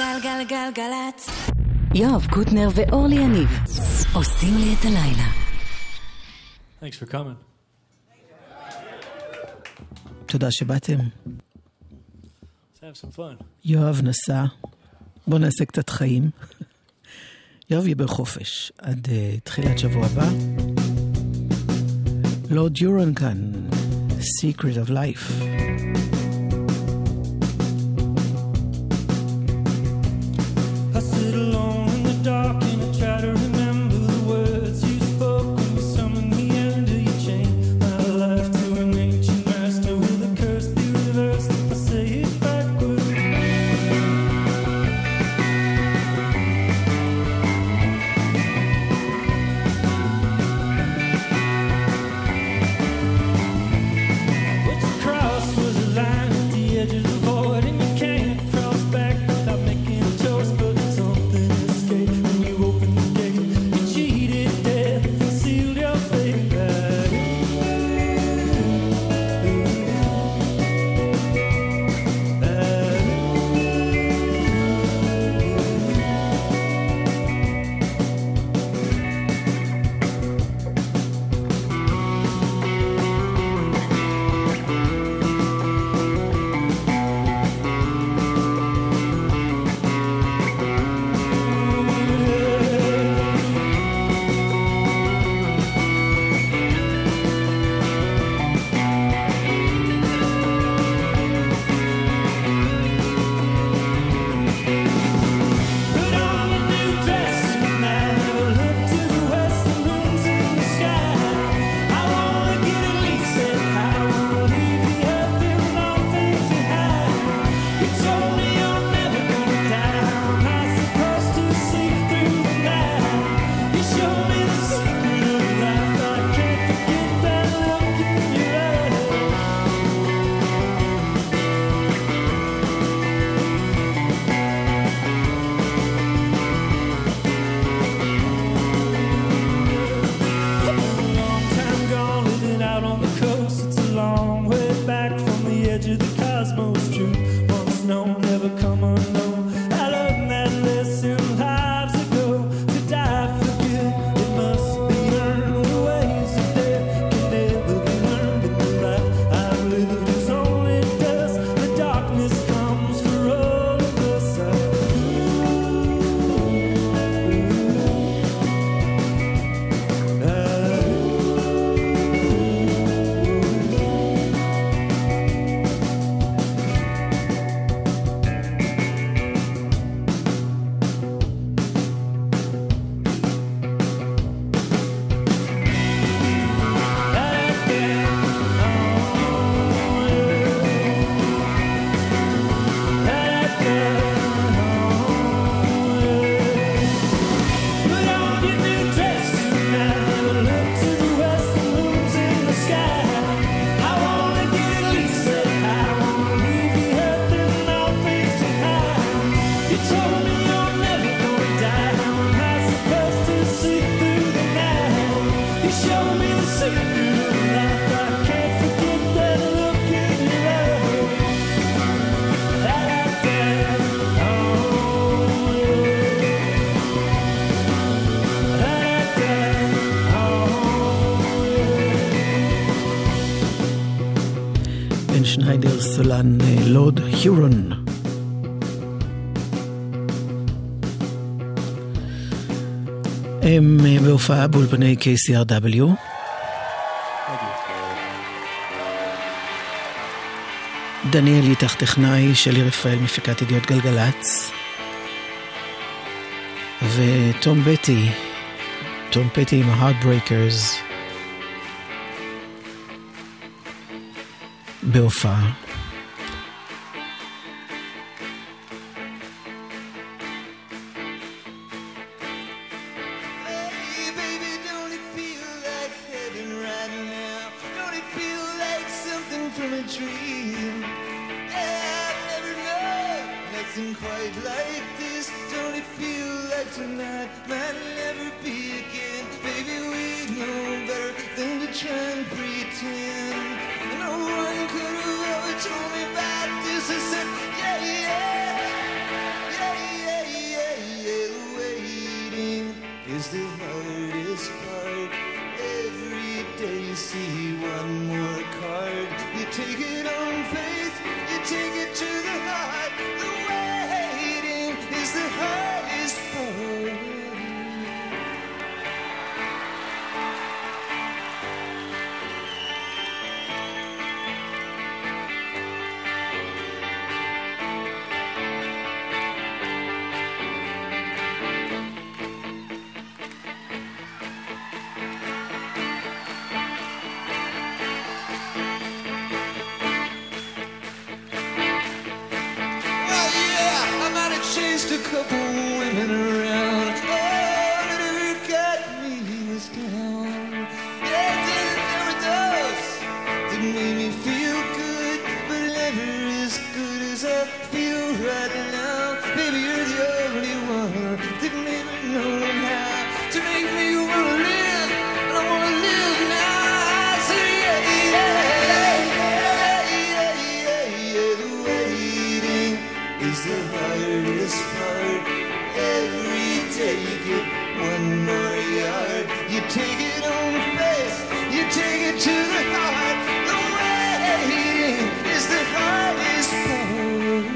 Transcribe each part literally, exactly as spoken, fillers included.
גלגלגלגלצ. יואב קוטנר ואורלי יניב עושים לי את הלילה. Thanks for coming. תודה שבאתם. Let's have some fun. יואב נסע. בוא נעשה קצת חיים. יואב יהיה בחופש עד uh, תחילת שבוע הבא. לורד יורון כאן. Secret of Life. שניידר סולן לורד היורון. הם בהופעה באולפני K C R W. דניאל איתך טכנאי, שלי רפאל מפיקת ידיעות גלגלצ, וטום בטי, טום בטי עם ה-Heartbreakers בהופעה. Told me about this, I said, yeah, yeah, yeah, yeah. hardest part. Every day you get one more yard. You take it on faith, you take it to the heart. The waiting is the hardest part.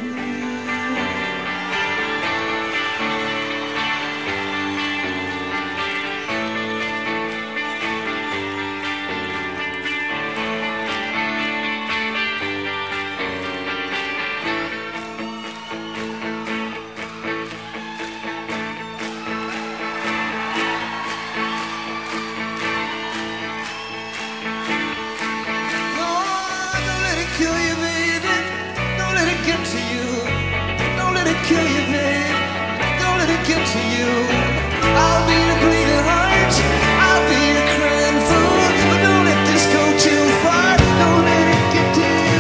Kill you, babe. Don't let it get to you. I'll be your bleeding heart. I'll be your crying fool. But don't let this go too far. Don't let it get to you.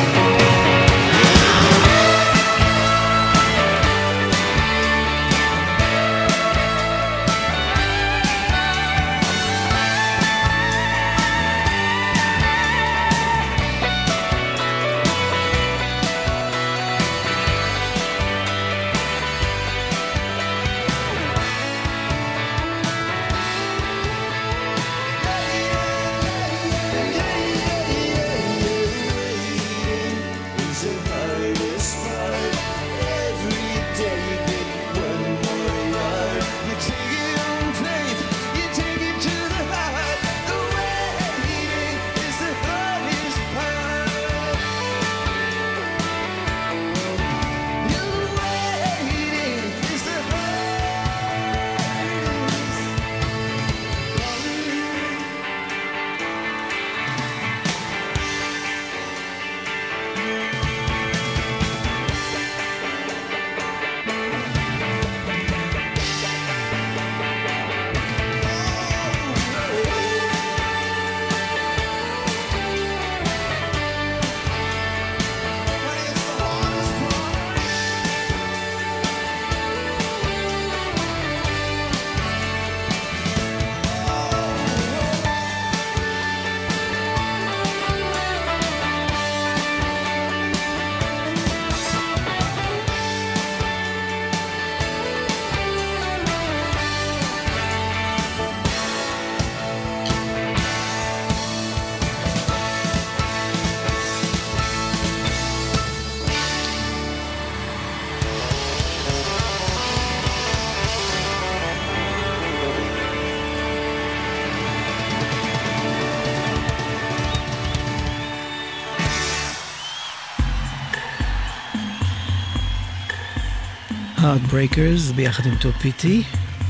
Heartbreakers ביחד עם טום פיטי,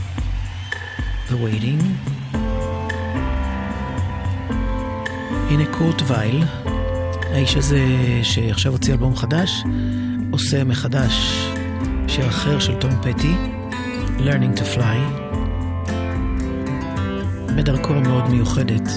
The Waiting. הנה קורט וייל, האיש הזה שעכשיו הוציא אלבום חדש, עושה מחדש שיר אחר של טום פיטי, Learning to Fly, בדרכו מאוד מיוחדת.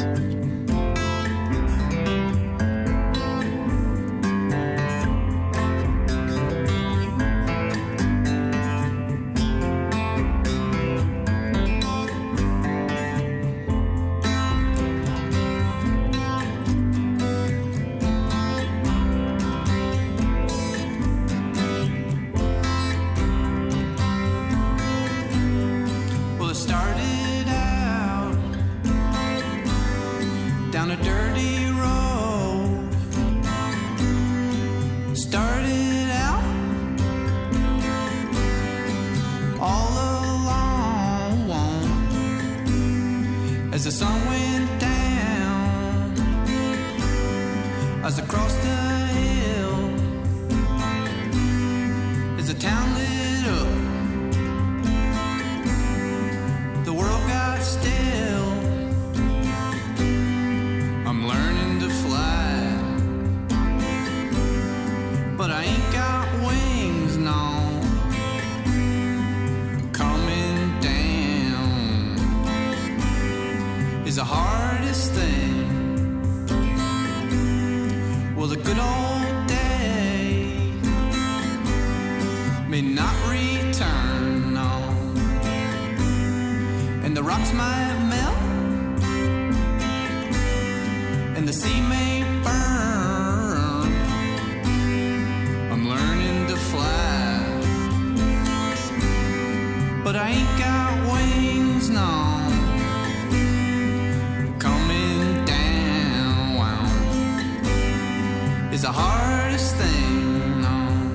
I'm learning to fly. I ain't got wings, no. Coming down is the hardest thing, no.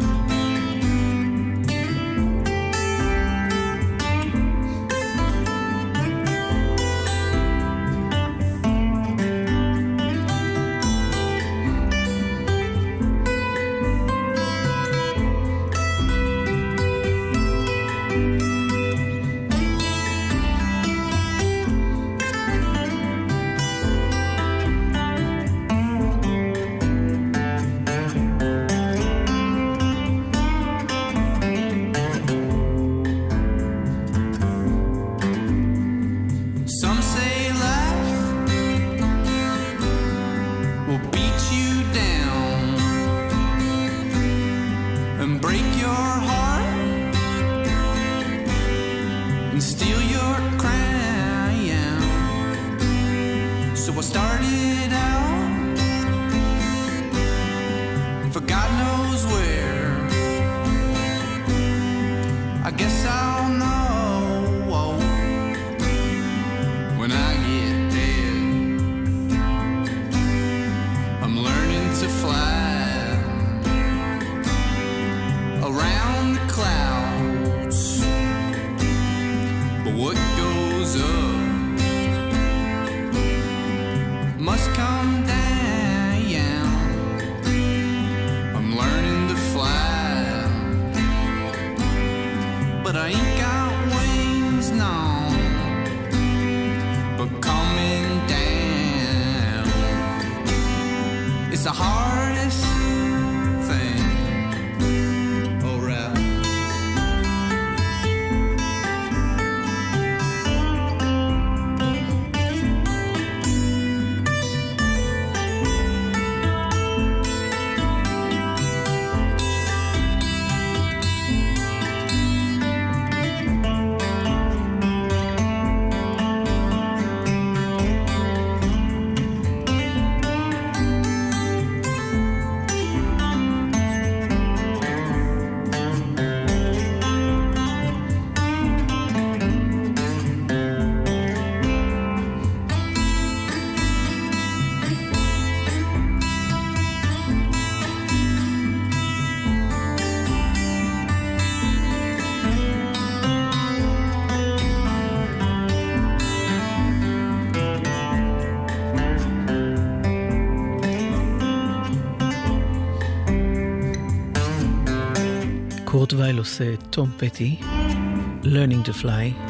קורט וייל עושה תום פטי, Learning to Fly.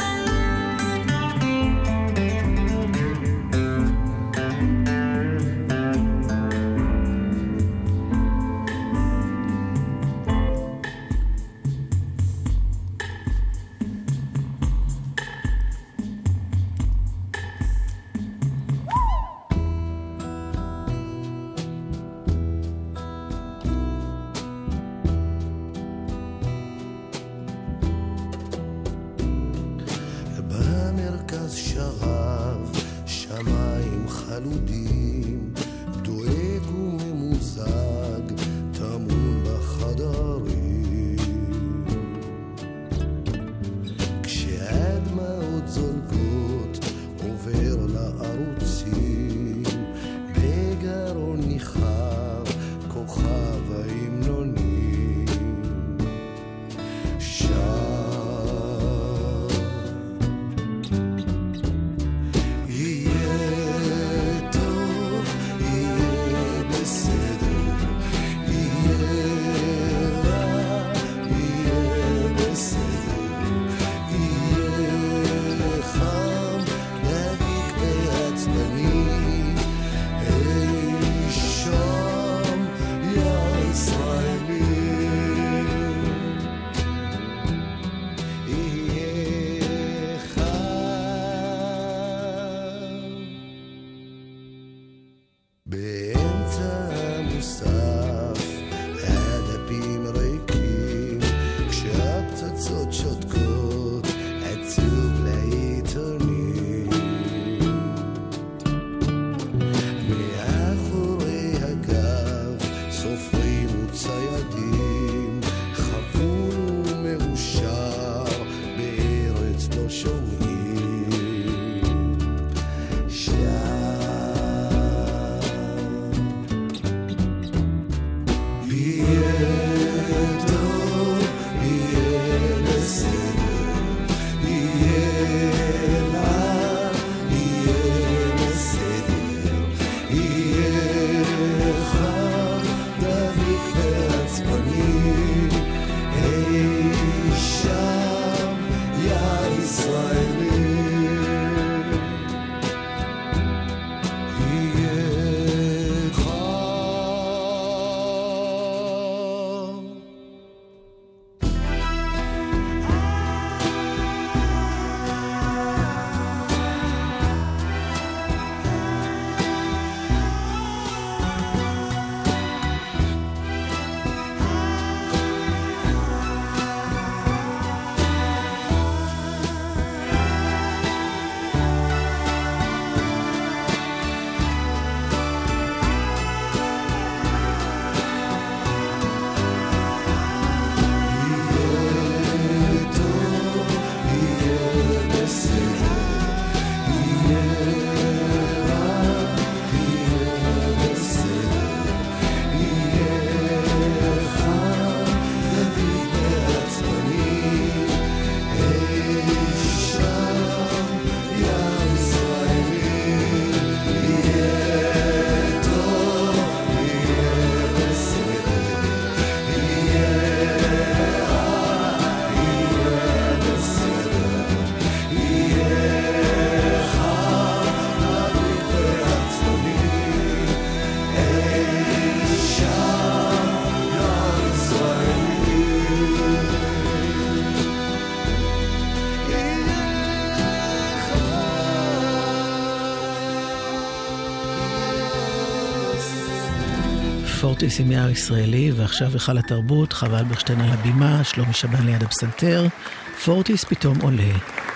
פורטיס עם יער ישראלי, ועכשיו היכל התרבות, חווה אלברשטיין על הבימה, שלומי שבן ליד הפסנתר, פורטיס פתאום עולה.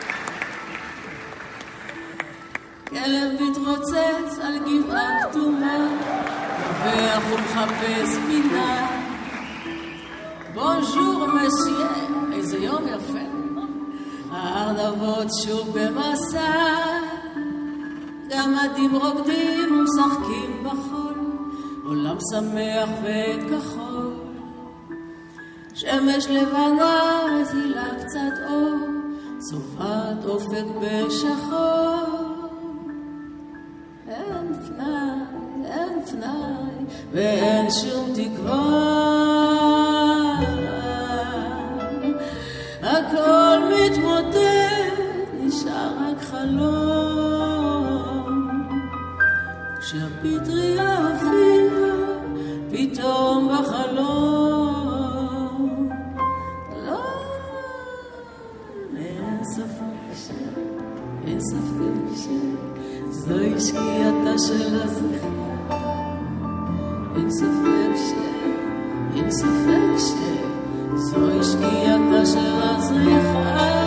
כלב מתרוצץ על גבעה כתומה, רווח ומחפש פינה. בונז'ור מסייה, איזה יום יפה, הארנבות שוב במסע, גמדים רוקדים ומשחקים בחול, עולם שמח וכחול, שמש לבנה מזילה קצת אור, צובעת אופק בשחור. אין פנאי, אין פנאי, ואין שום תקווה, הכל מתמוטט, נשאר רק חלום. כשהפטריה הופיעה פתאום בחלום, לא, אין ספק ש... אין ספק ש... זוהי שקיעתה של הזריחה. אין ספק ש... אין ספק ש... זוהי שקיעתה של הזריחה.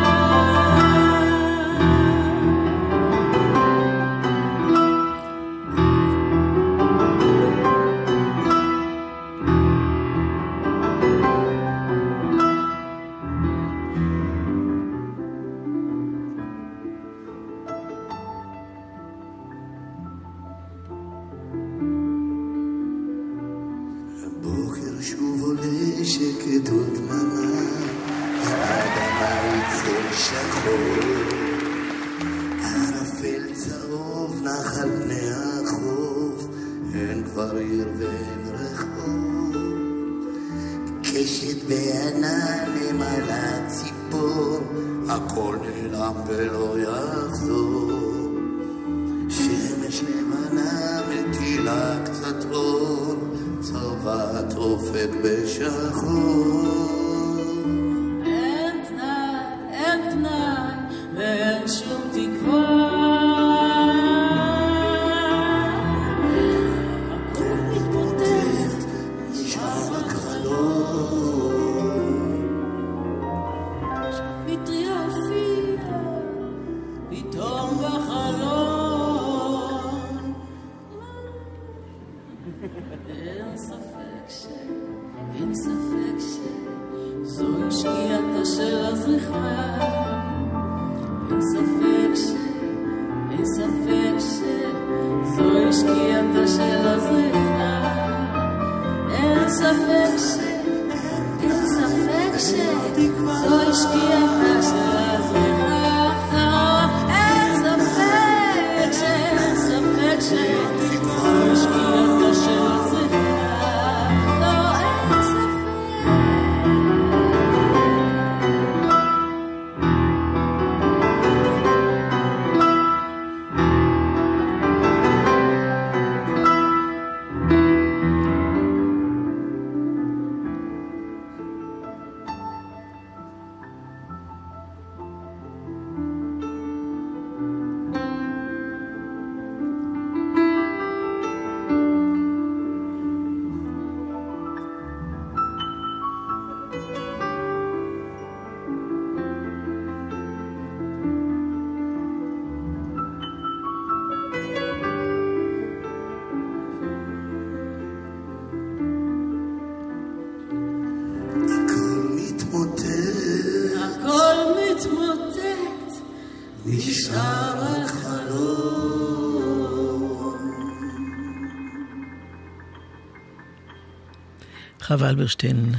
חווה אלברשטיין,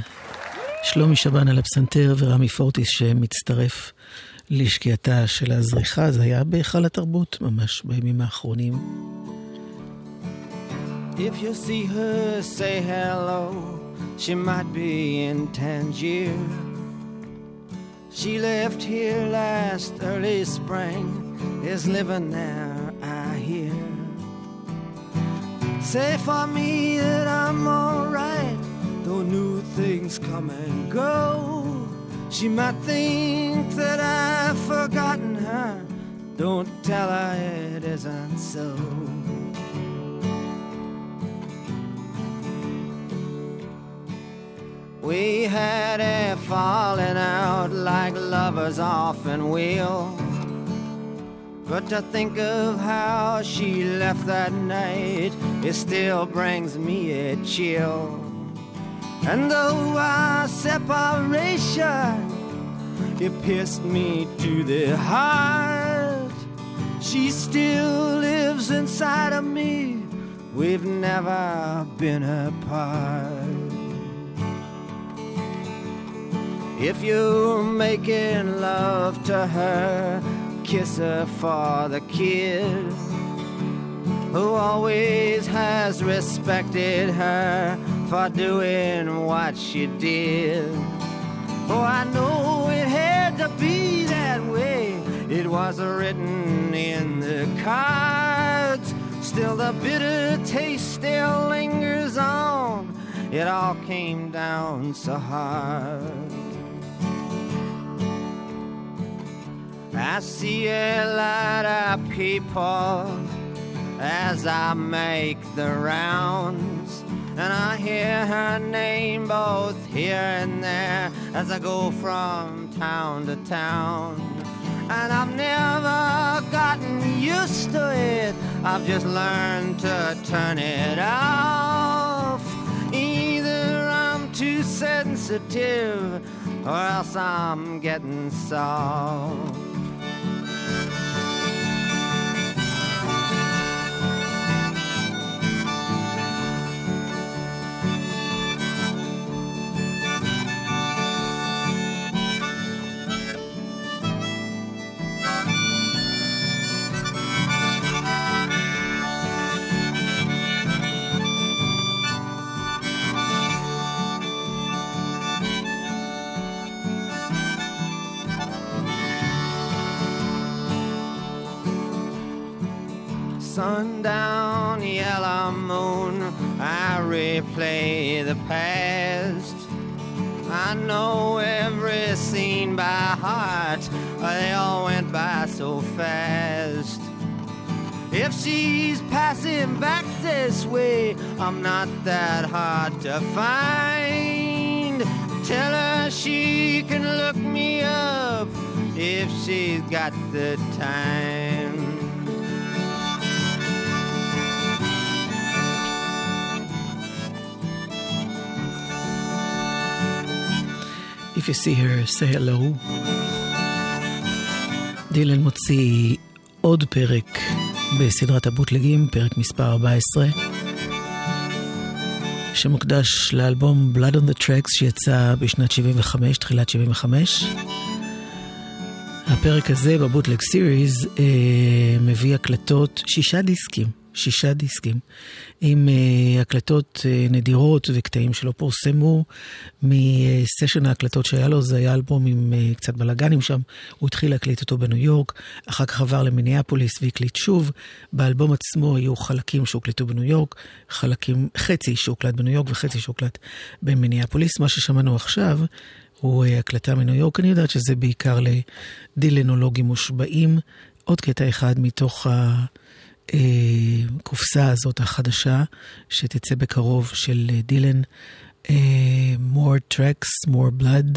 שלומי שבן על הפסנתר ורמי פורטיס שמצטרף לשקיעתה של הזריחה. זה היה בהיכל התרבות ממש בימים האחרונים. If you see her, say hello. She might be in Tangier. She left here last early spring, is living there, I hear. Say for me that I'm alright, though new things come and go. She might think that I've forgotten her. Don't tell her it isn't so. We had a falling out like lovers often will. But to think of how she left that night, it still brings me a chill. And though our separation, it pierced me to the heart, she still lives inside of me. We've never been apart. If you're making love to her, kiss her for the kid who always has respected her for doing what she did. Oh, I know it had to be that way. It was written in the cards. Still the bitter taste still lingers on. It all came down so hard. I see a lot of people as I make the rounds, and I hear her name both here and there as I go from town to town. And I've never gotten used to it, I've just learned to turn it off. Either I'm too sensitive or else I'm getting soft. Sundown, yellow moon, I replay the past. I know every scene by heart, they all went by so fast. If she's passing back this way, I'm not that hard to find. Tell her she can look me up if she's got the time. If you see her, say hello. דילן מוציא עוד פרק בסדרת הבוטלגים, פרק מספר ארבע עשרה, שמוקדש לאלבום Blood on the Tracks שיצא בשנת שבעים וחמש, תחילת שבעים וחמש. הפרק הזה בבוטלג סיריז אה, מביא הקלטות, שישה דיסקים, שישה דיסקים, עם uh, הקלטות uh, נדירות וקטעים שלא פורסמו מסשן ההקלטות שהיה לו. זה היה אלבום עם uh, קצת בלגנים שם. הוא התחיל להקליט אותו בניו יורק, אחר כך עבר למיניאפוליס והקליט שוב. באלבום עצמו היו חלקים שהוקלטו בניו יורק, חלקים, חצי שהוקלט בניו יורק וחצי שהוקלט במיניאפוליס. מה ששמענו עכשיו הוא uh, הקלטה מניו יורק. אני יודעת שזה בעיקר לדילנולוגים מושבעים. עוד קטע אחד מתוך ה... קופסה הזאת החדשה שתצא בקרוב של דילן, more tracks, more blood.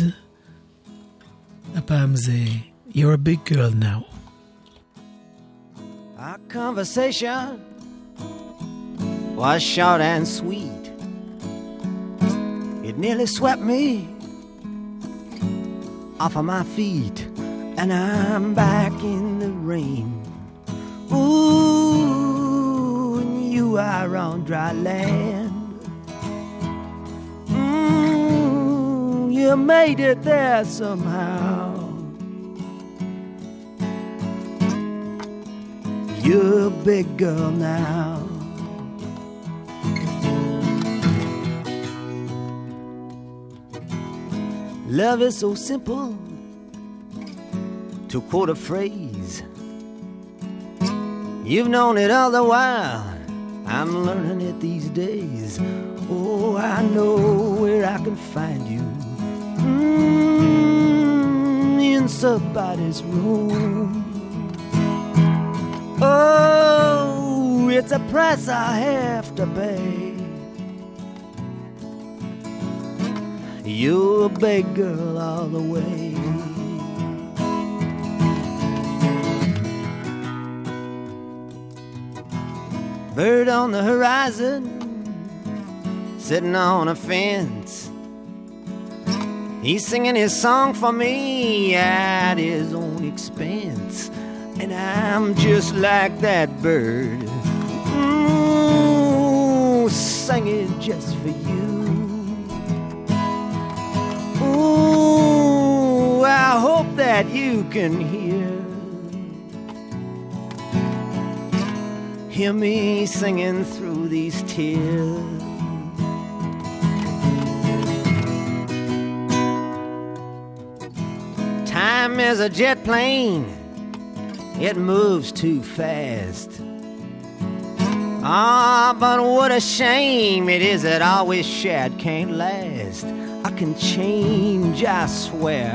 הפעם זה You're a big girl now. Our conversation was short and sweet. It nearly swept me off of my feet, and I'm back in the rain. Ooh, and you are on dry land. Mm, you made it there somehow. You're a big girl now. Love is so simple. To quote a phrase, you've known it all the while, I'm learning it these days. Oh, I know where I can find you, mm, in somebody's room. Oh, it's a price I have to pay. you're a big girl all the way. Bird on the horizon, sitting on a fence. He's singing his song for me at his own expense. And I'm just like that bird, ooh, singing just for you. Ooh, I hope that you can hear Hear me singing through these tears. Time is a jet plane, it moves too fast. Ah, but what a shame it is that all we shared can't last. I can change, I swear.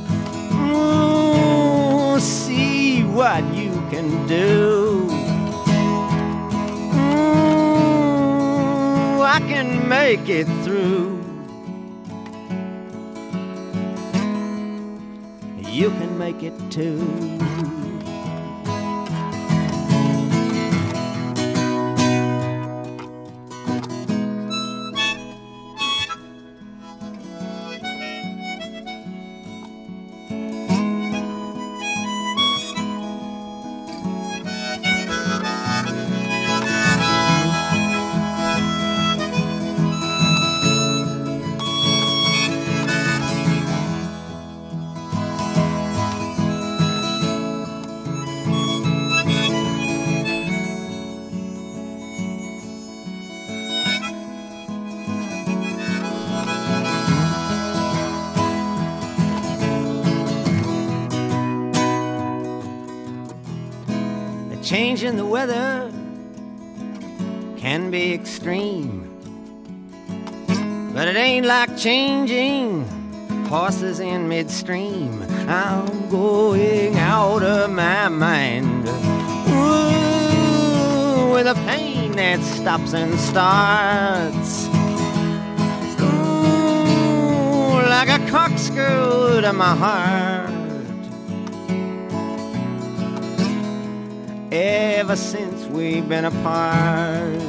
Ooh, see what you can do. Ooh, I can make it through. You can make it too. Change in the weather can be extreme, but it ain't like changing horses in midstream. I'm going out of my mind, ooh, with a pain that stops and starts, ooh, like a corkscrew to my heart. Ever since we've been apart,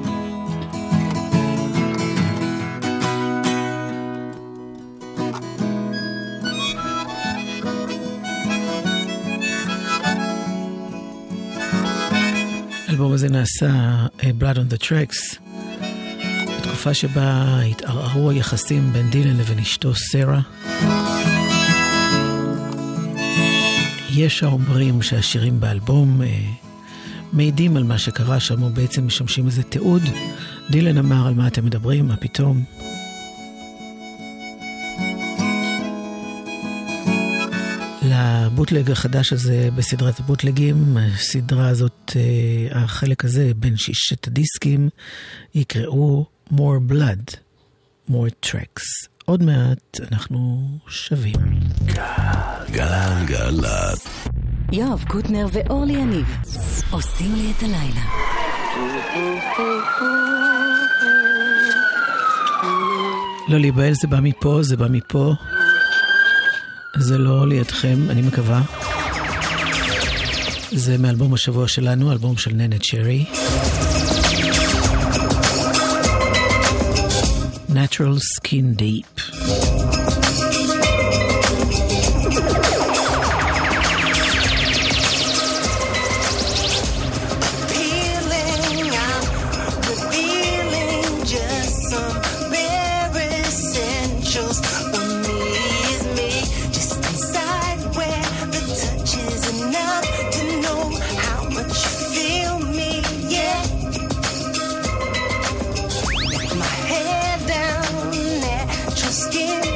האלבום הזה נעשה Blood on the Tracks בתקופה שבה התערערו היחסים בין דילן לבין אשתו סרה. יש האומרים שהשירים באלבום אה, מעידים על מה שקרה שם, או בעצם משמשים איזה תיעוד. דילן אמר, על מה אתם מדברים? מה פתאום? לבוטלג החדש הזה בסדרת הבוטלגים, הסדרה הזאת, אה, החלק הזה בין שישת הדיסקים, יקראו More Blood, More Tracks. עוד מעט אנחנו שווים. גלן גלת. יואב קוטנר ואורלי יניב עושים לי את הלילה. לא להיבהל, זה בא מפה, זה בא מפה. זה לא לידכם, אני מקווה. זה מאלבום השבוע שלנו, אלבום של ננה צ'רי. Natural Skin Deep. Skin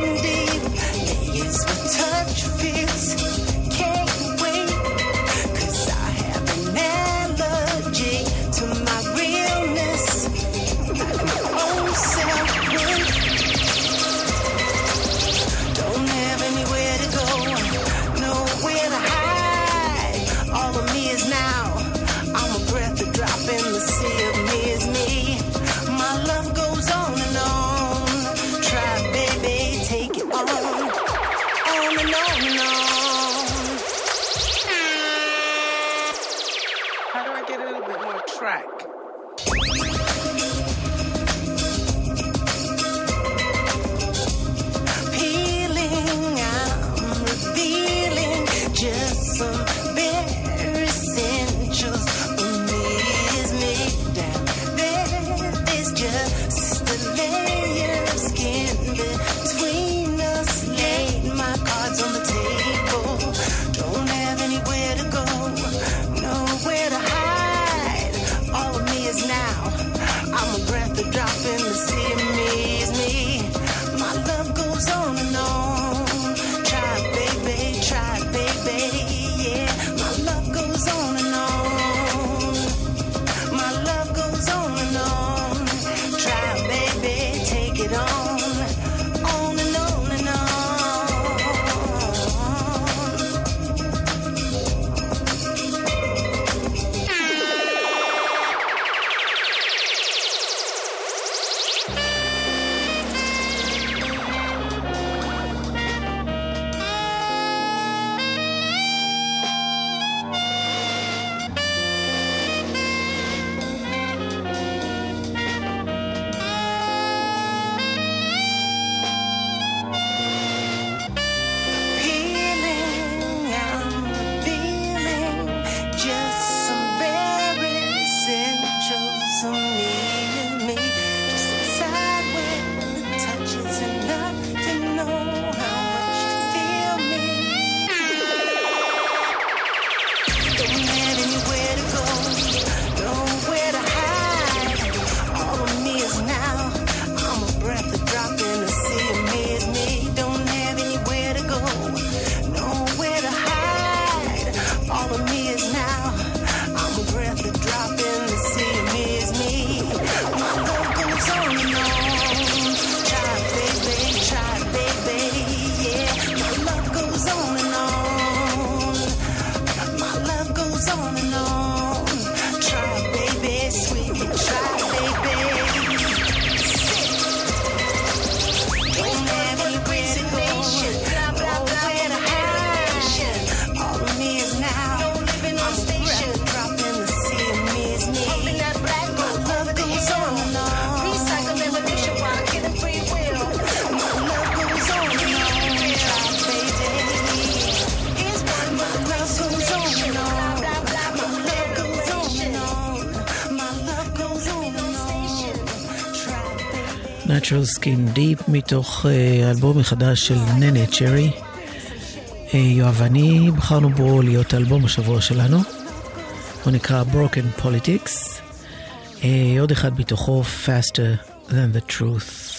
Natural Skin Deep, מתוך אלבום מחדש של ננה צ'רי. יואב ואני בחרנו בו להיות אלבום השבוע שלנו. הוא נקרא Broken Politics. עוד אחד מתוכו, Faster Than the Truth.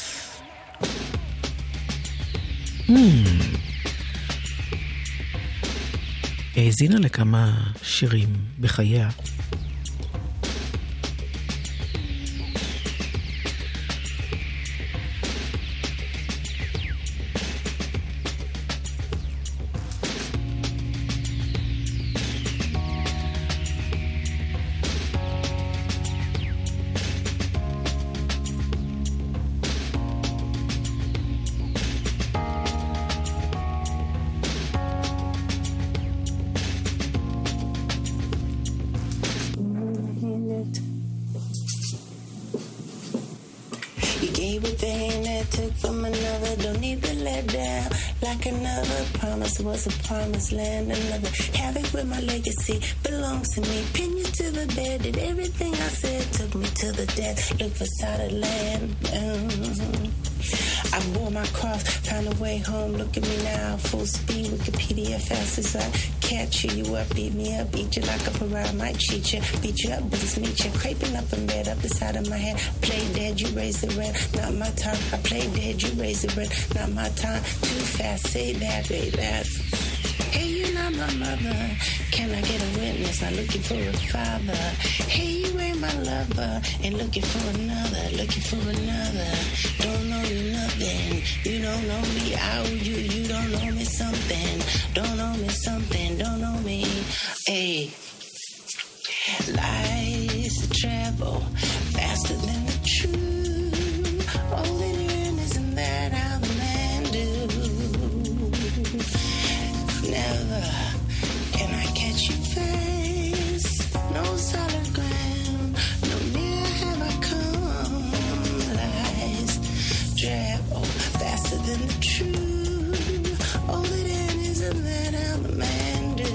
Hmm. האזינה לכמה שירים בחייה. Was a promised land, another havoc with my legacy belongs to me. Pin you to the bed, did everything I said, took me to the death. Look for solid land. Mm-hmm. I bore my cross, found a way home. Look at me now, full speed, Wikipedia fast as I catch you. You up, beat me up, eat you like a pariah, might cheat you, beat you up, but it's meet you. Craping up in bed, up the side of my head. Play dead, you raise the rent, not my time. I play dead, you raise the rent, not my time. Too fast, say that, say that. Hey, you're not my mother. Can I get a witness? I'm looking for a father. Hey, you ain't my lover. And looking for another, looking for another. Don't know you nothing. You don't know me. I owe you. You don't know me something. Don't know me something. Don't know me. Hey, lies travel faster than the truth. All that in isn't that how the man do? Never can I catch you face. No solid ground. No near have I come. Lies travel faster than the truth. All that in isn't that how the man do.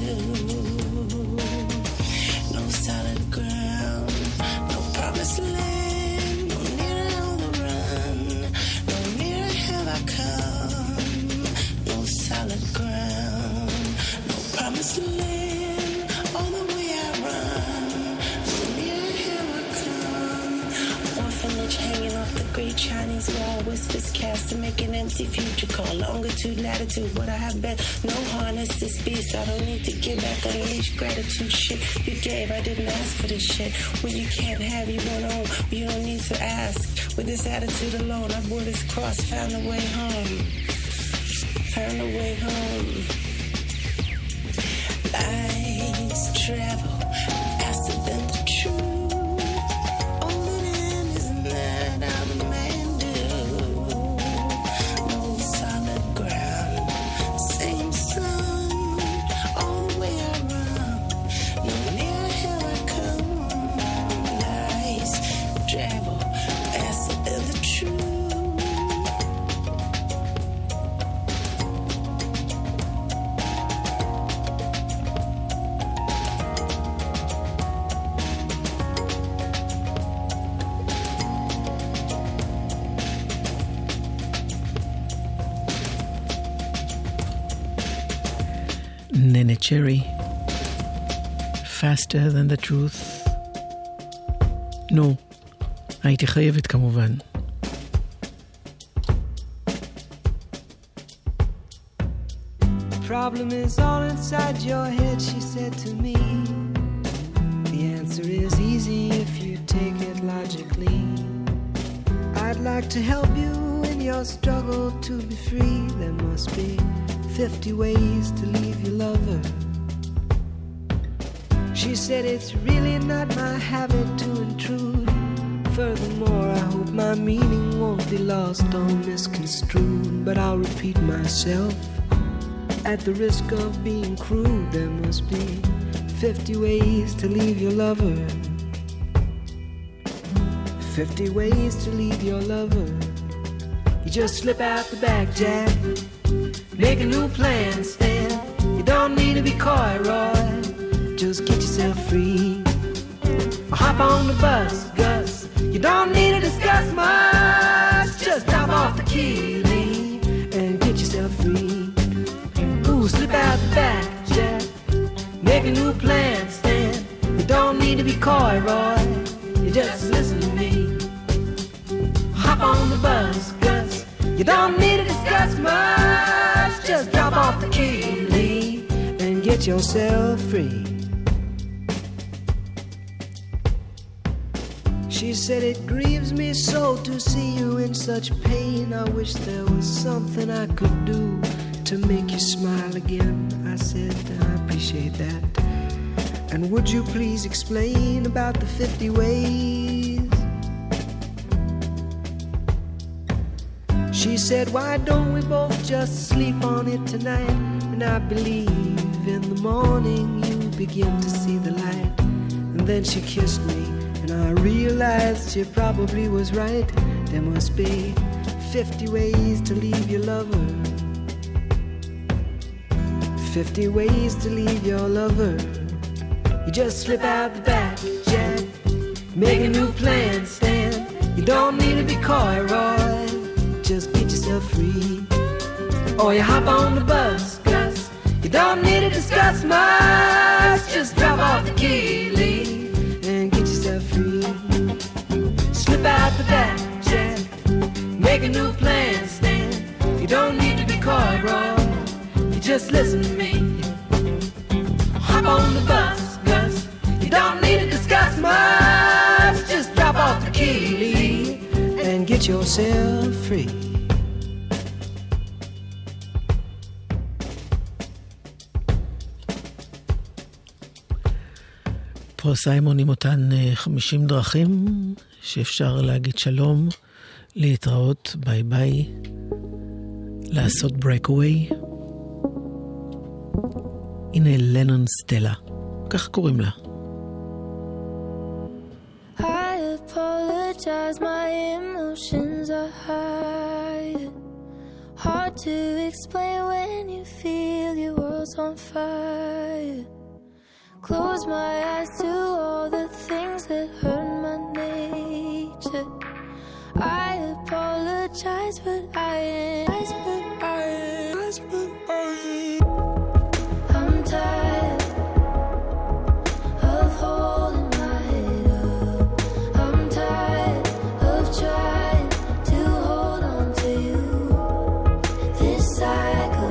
No solid ground. No promised land. No near on the run. No near have I come. No solid ground. Promised land, all the way I run. From here, here I come. Orphanage hanging off the great Chinese wall. Whispers cast to make an empty future call. Longitude, latitude, what I have been. No harness this beast. I don't need to give back. Unleash gratitude. Shit you gave, I didn't ask for this shit. When you can't have, you won't own. You don't need to ask. With this attitude alone, I bore this cross. Found a way home. Found a way home. Lies travel faster than the truth. All that in isn't that how the man do. No solid ground, same sun. All the way I run, no near here I come. Lies travel faster than the truth. ננה צ'רי, Faster Than the Truth. נו, הייתי חייבת כמובן. Problem is all inside your head, she said to me. The answer is easy if you take it logically. I'd like to help you in your struggle to be free. There must be fifty ways to leave your lover. She said it's really not my habit to intrude. Furthermore, I hope my meaning won't be lost or misconstrued. But I'll repeat myself. At the risk of being crude, there must be fifty ways to leave your lover. Fifty ways to leave your lover. You just slip out the back, Jack. Make a new plan, Stan. You don't need to be coy, Roy. Just get yourself free. Or hop on the bus, Gus. You don't need to discuss much. Just out the back, Jack. Make a new plan, Stan. You don't need to be coy, Roy. You just listen to me. Hop on the bus, Gus. You don't need to discuss much. Just drop off the key, Lee, and get yourself free. She said, it grieves me so to see you in such pain. I wish there was something I could do to make you smile again. I said, I appreciate that. And would you please explain about the fifty ways? She said, why don't we both just sleep on it tonight? And I believe in the morning you begin to see the light. And then she kissed me, and I realized she probably was right. There must be fifty ways to leave your lover. Fifty ways to leave your lover. You just slip out the back, Jack. Make a new plan, Stan. You don't need to be coy, Roy. Just get yourself free. Or you hop on the bus, Gus. You don't need to discuss much. Just drop off the key, Lee, and get yourself free. Slip out the back, Jack. Make a new plan, Stan. You don't need to be coy, Roy. You just listen to me. Hop on the bus, Gus. You don't need to discuss much. Just drop off the key, Lee, and get yourself free. פה סיימון עם אותן חמישים דרכים שאפשר להגיד שלום, להתראות, ביי ביי, לעשות breakaway. הנה לנון סטלה, כך קוראים לה. I apologize, my emotions are high. Hard to explain when you feel your world's on fire. Close my eyes to all the things that hurt my nature. I apologize, but I am. But I am. But I am. I'm tired of holding my head up. I'm tired of trying to hold on to you. This cycle,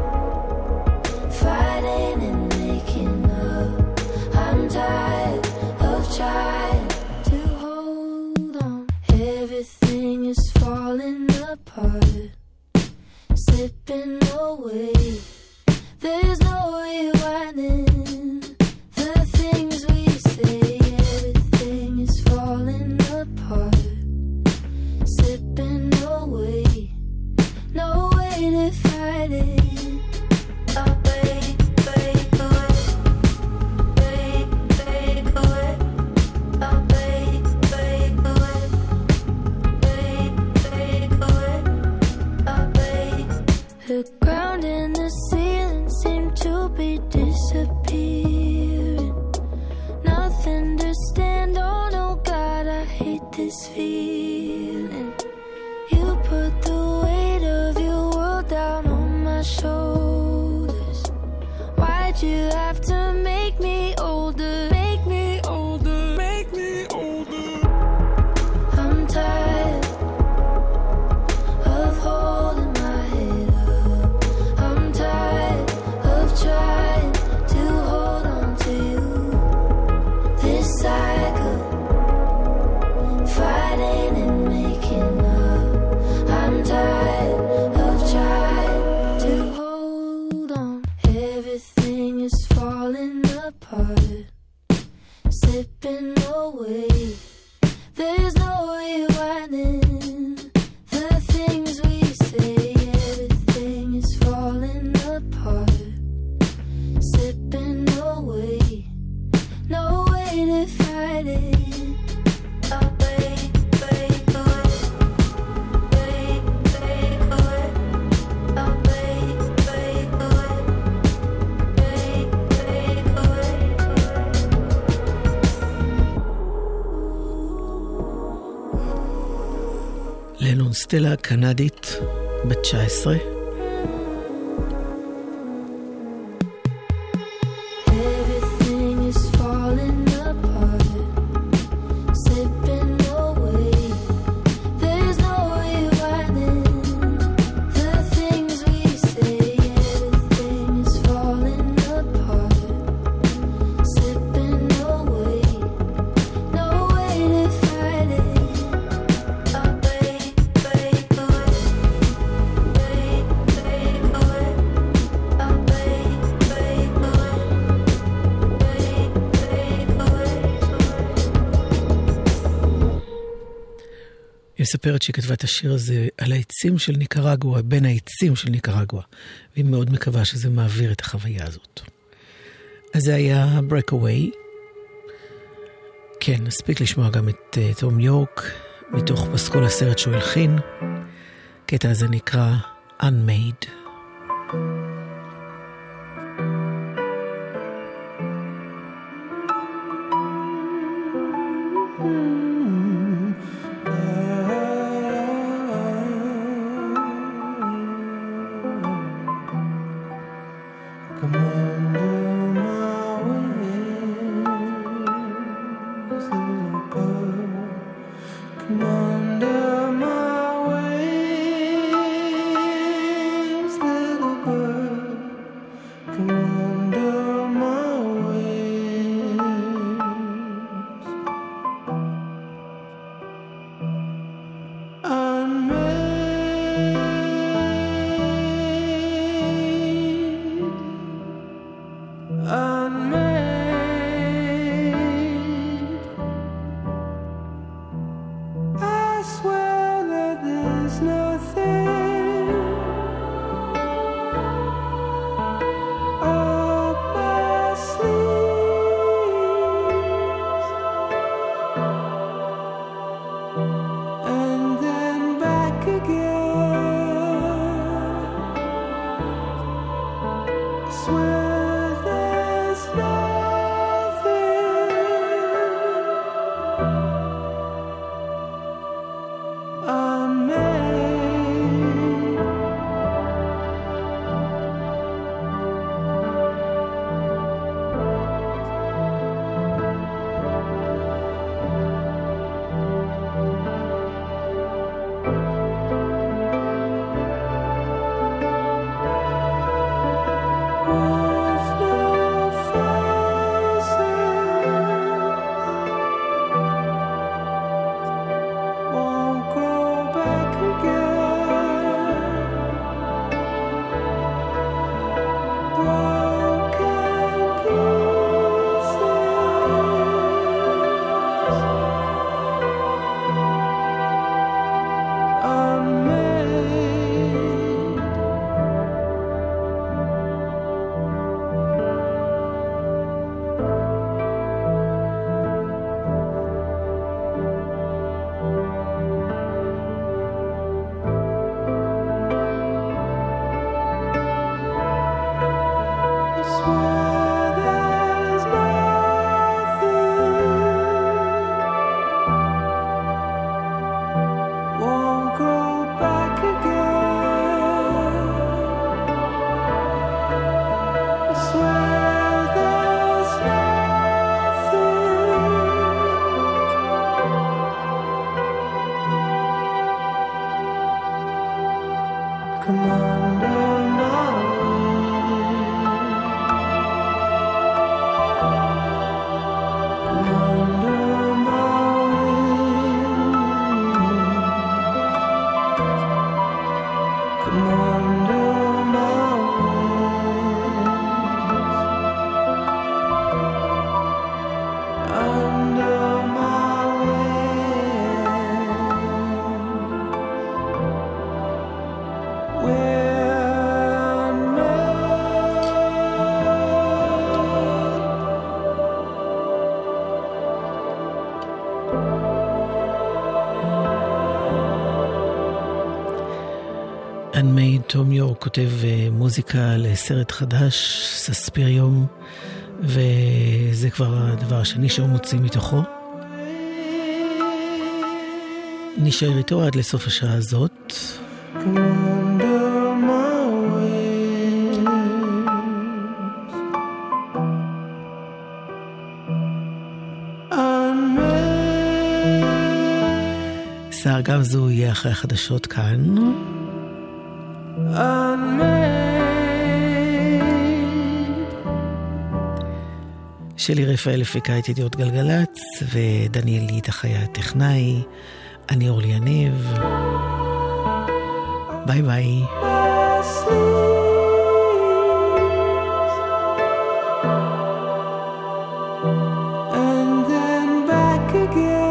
fighting and making up. I'm tired of trying to hold on. Everything is falling apart, slipping away. There's no rewinding the things we say. Everything is falling apart, slipping away. No way to fight it. Oh, break, break away. Break, break away. Oh, break, break away. Break, break away. Oh, break. The ground and the ceiling seem to be disappearing. Nothing to stand on. Oh God, I hate this feeling. You put the weight of your world down on my shoulders. Why'd you have to make me older? Make me older. Make me older. I'm tired of holding my head up. I'm tired of trying to hold on to you. This cycle, fighting and making up. I'm tired of trying to hold on. Everything is falling apart, slipping away. There's no rewinding the things we say. Everything is falling apart, slipping away. No way to fight it. Oh, break, break away. Break, break away. Oh, break, break away. Break, break away. לנון סטלה קנדית בת תשע עשרה. מספרת שהיא כתבה את השיר הזה על העצים של ניקרגואה, בין העצים של ניקרגואה, והיא מאוד מקווה שזה מעביר את החוויה הזאת. אז זה היה Breakaway. כן, נספיק לשמוע גם את uh, תום יורק, מתוך פסקול הסרט שהוא הלחין. קטע הזה נקרא Unmade. תום יורק כותב מוזיקה לסרט חדש, סספיריום, וזה כבר הדבר השני שהוא מוציא מתוכו. נשאר איתו עד לסוף השעה הזאת. סער גם זו יהיה אחרי החדשות כאן. שלי רפאל הפיקה את ידיעות גלגלץ, ודניאל ליטח היה הטכנאי. אני אורלי יניב. ביי ביי. And then back again.